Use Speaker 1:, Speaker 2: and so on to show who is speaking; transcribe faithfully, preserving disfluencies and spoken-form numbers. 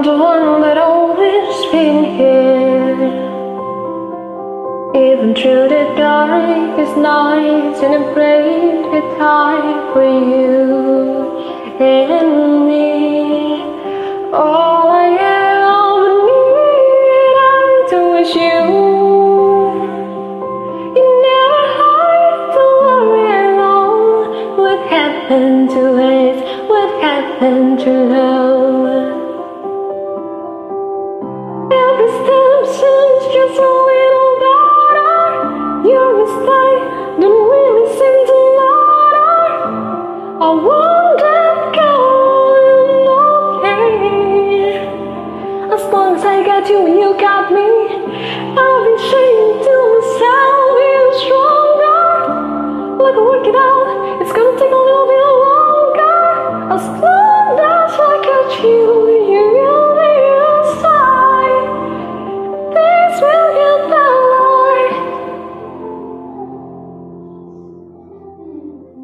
Speaker 1: the one that always been here, even through the darkest nights, and I prayed with time for you and me. All I ever need, I to wish you. You never had to worry alone. What happened to us? What happened to love? Every step seems just a little better. Your mistake don't really seem to matter. I won't let go, I'm okay. As long as I got you in your